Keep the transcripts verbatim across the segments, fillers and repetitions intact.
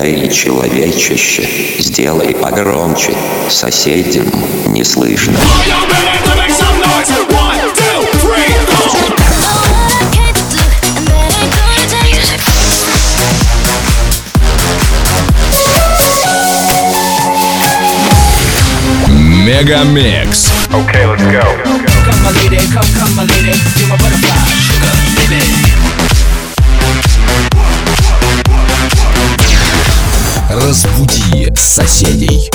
Эй, человечище, сделай погромче, соседям не слышно. Мегамикс. Okay, let's go. Come my lady, come, come my lady, you're my butterfly, sugar, baby. Разбуди соседей.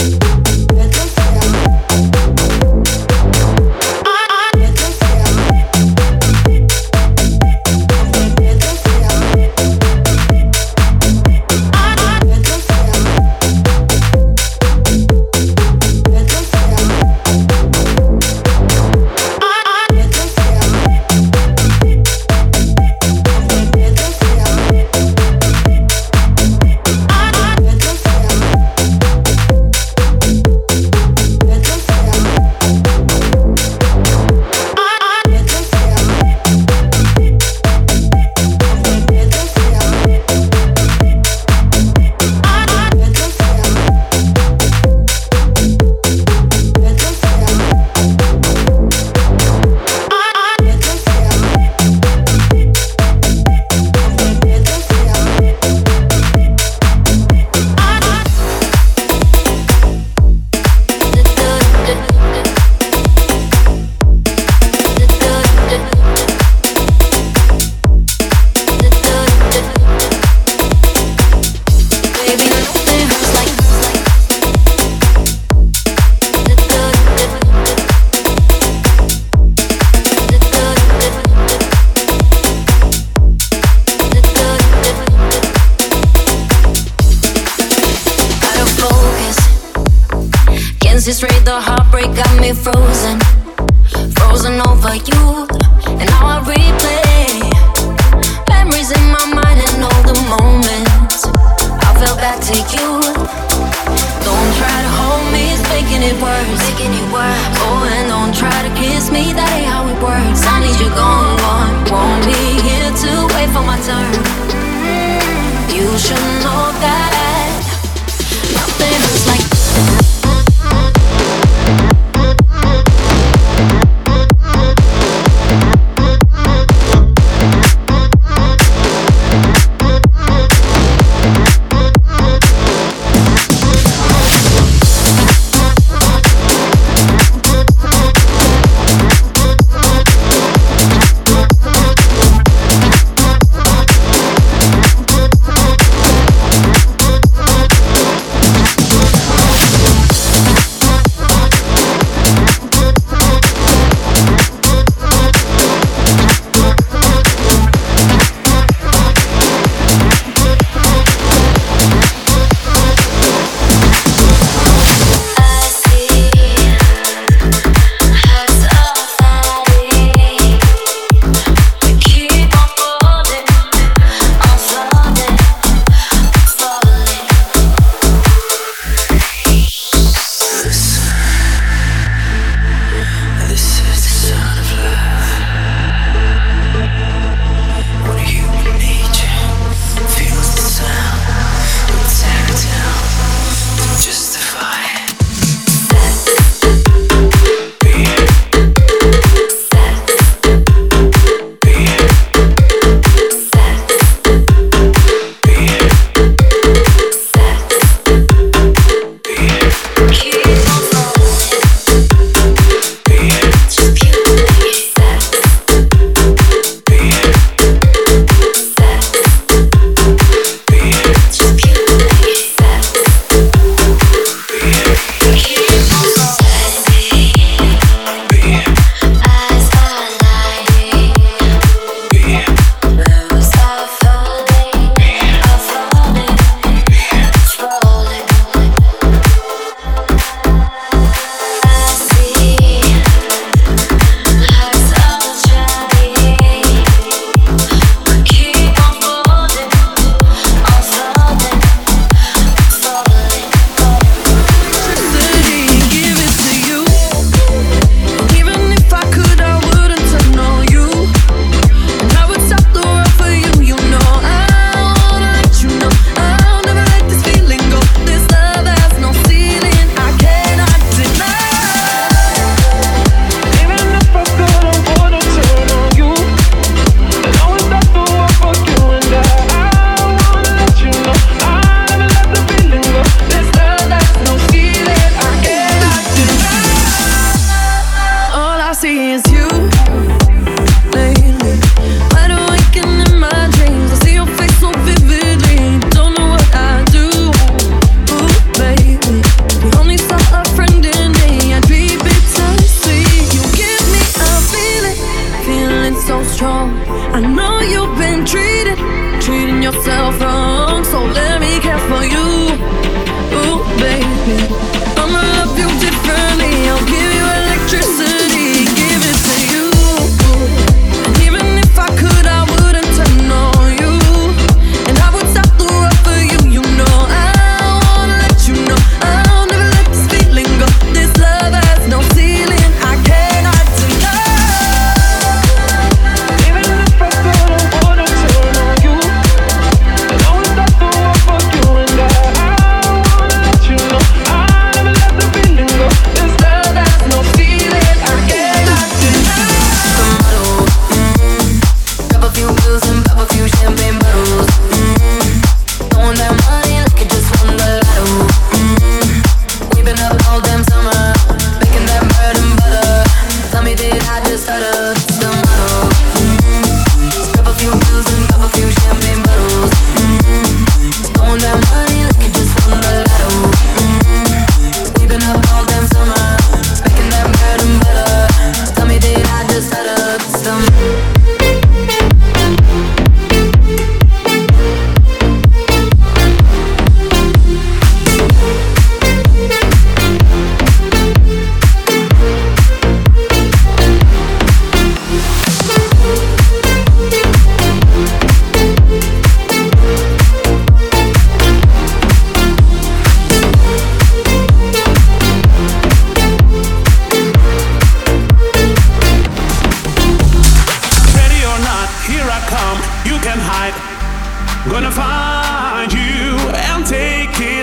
Straight, the heartbreak got me frozen, frozen over you. And now I replay memories in my mind and all the moments I fell back to you. Don't try to hold me, it's making it worse, making it worse. Oh, and don't try to kiss me, that ain't how it works. I need you gone, gone. Won't be here to wait for my turn. You should know that nothing is like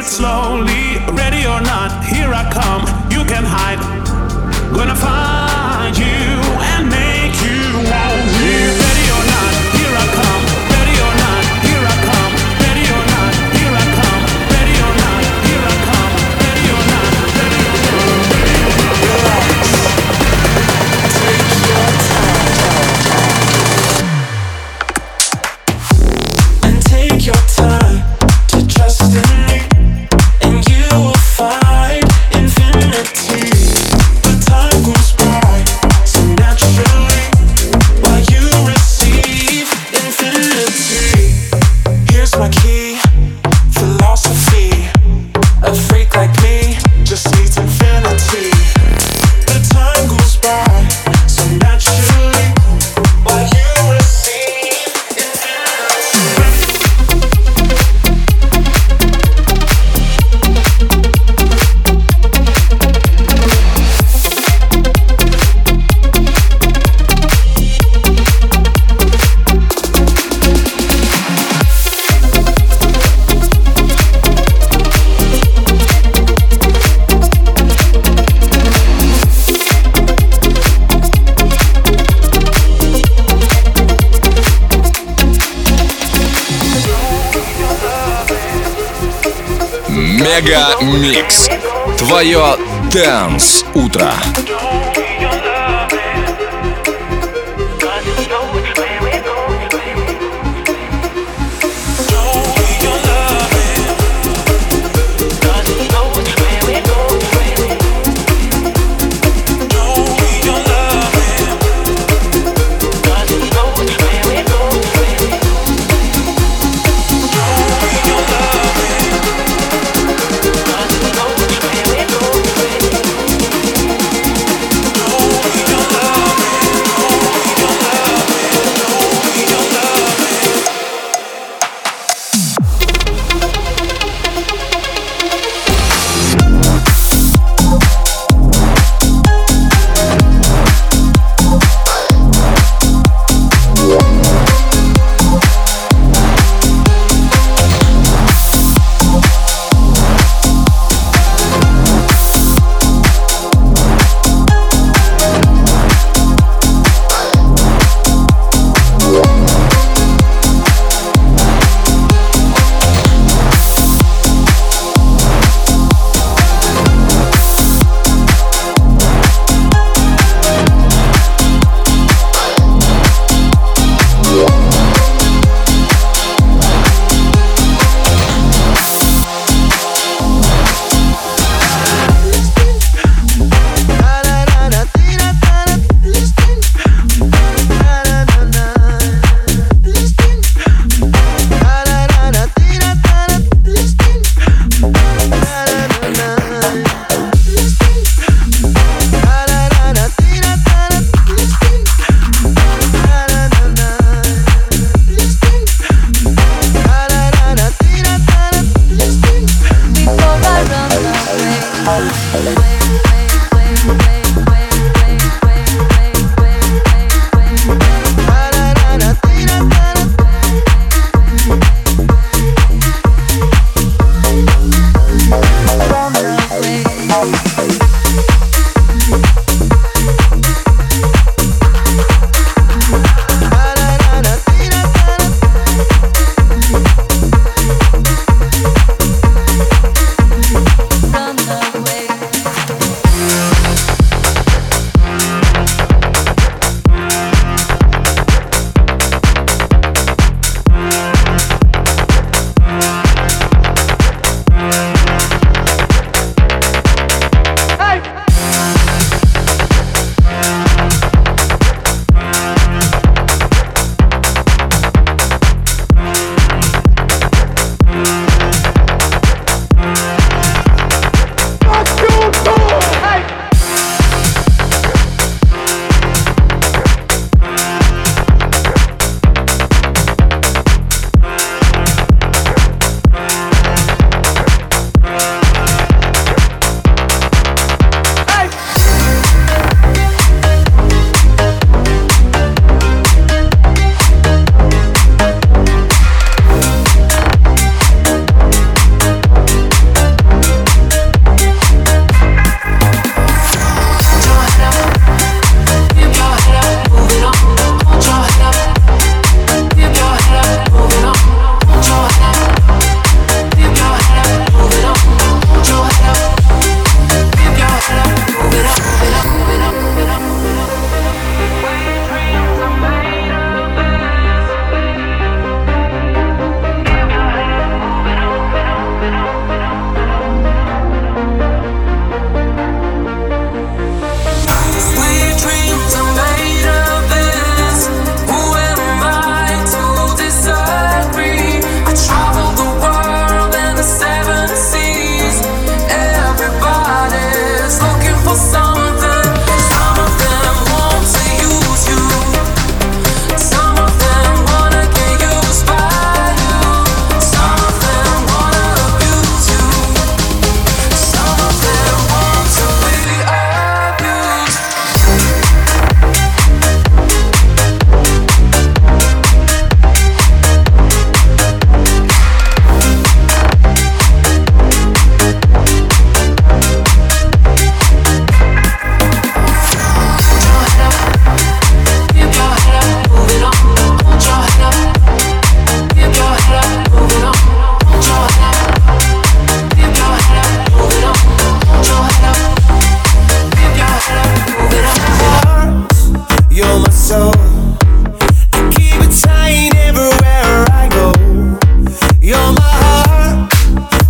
slowly. Ready or not, here I come. You can hide. Gonna find you and make you want me. Ready or not, here I come. Ready or not, here I come. Ready or not, here I come. Ready or not, here I come. Ready or not, ready or not, ready or not. Relax. Take your time. And take your time to trust in me, and you will find infinity. The time goes by so naturally while you receive infinity. Here's my key, philosophy. A freak like me just needs infinity. The time goes by so naturally while you receive infinity. Мега Микс. Твое Dance утро.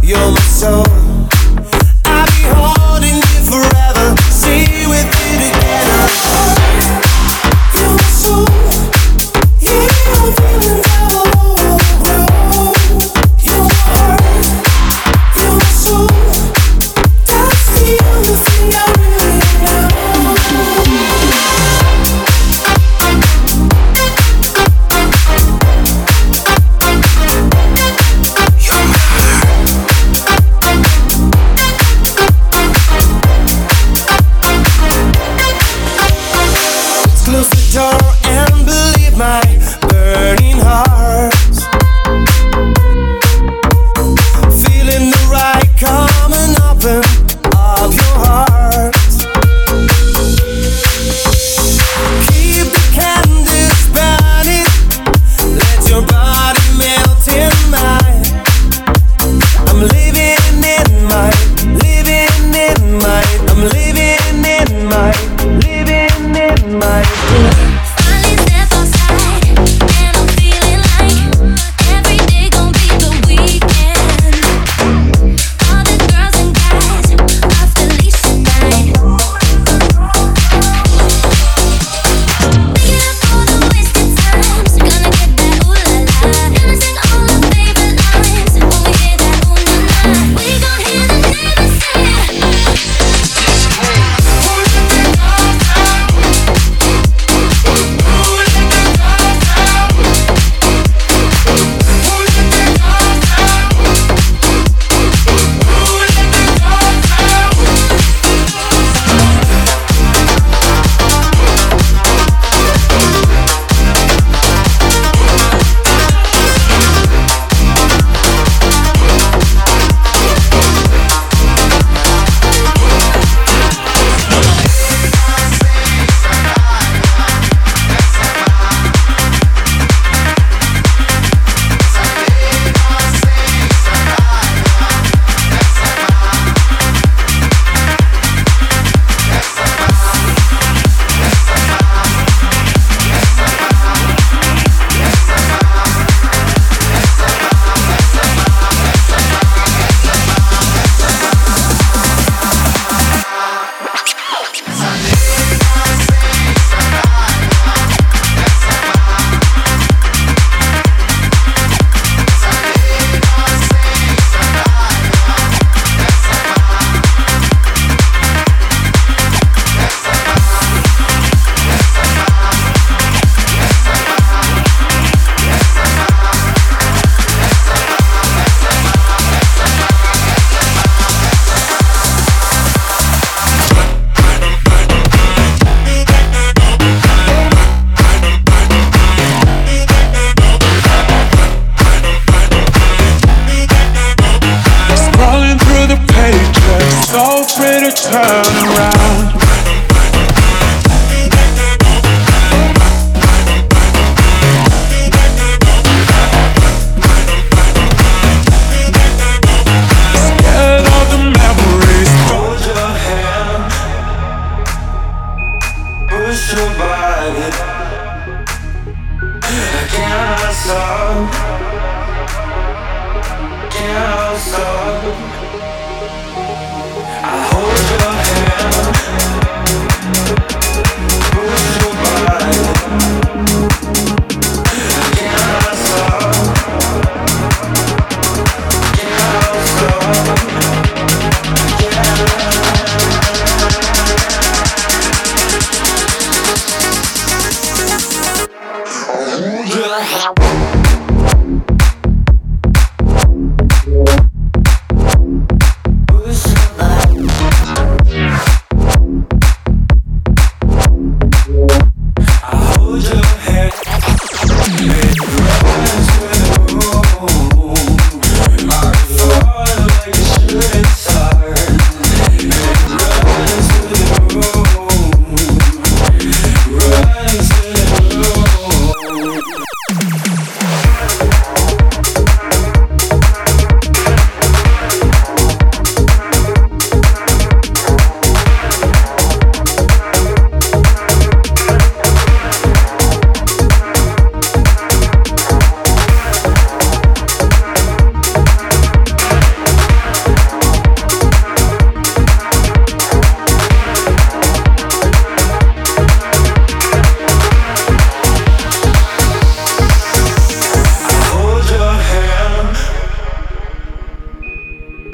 you're my soul. I'll be holding you forever, stay with you together. You're my soul, yeah, I'm feeling all over the road. You're my heart, you're my soul, that's the only thing I really know. You're my heart.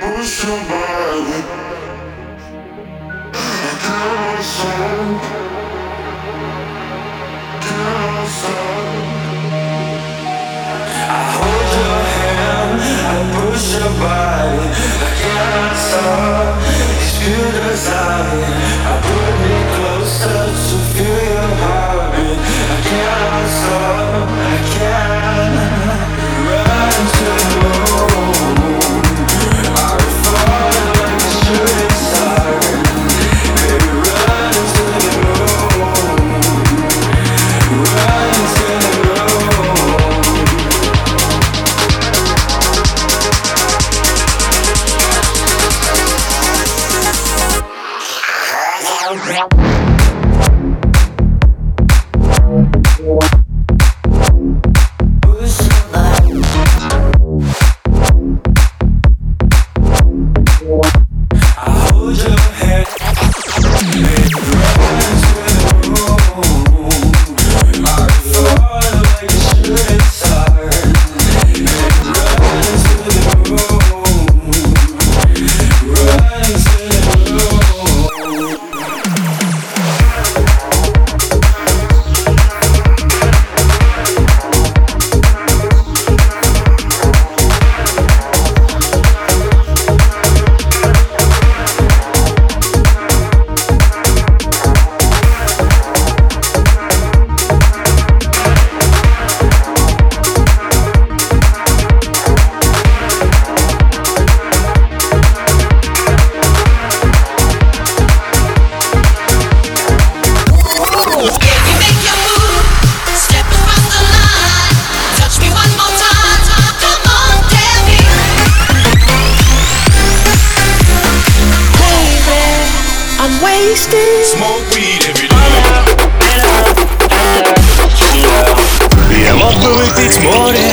Я мог бы выпить море,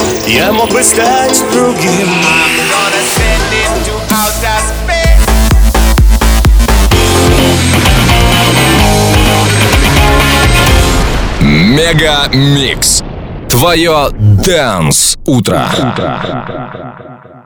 я мог бы стать другим. Мега Микс. Твое Dance утро.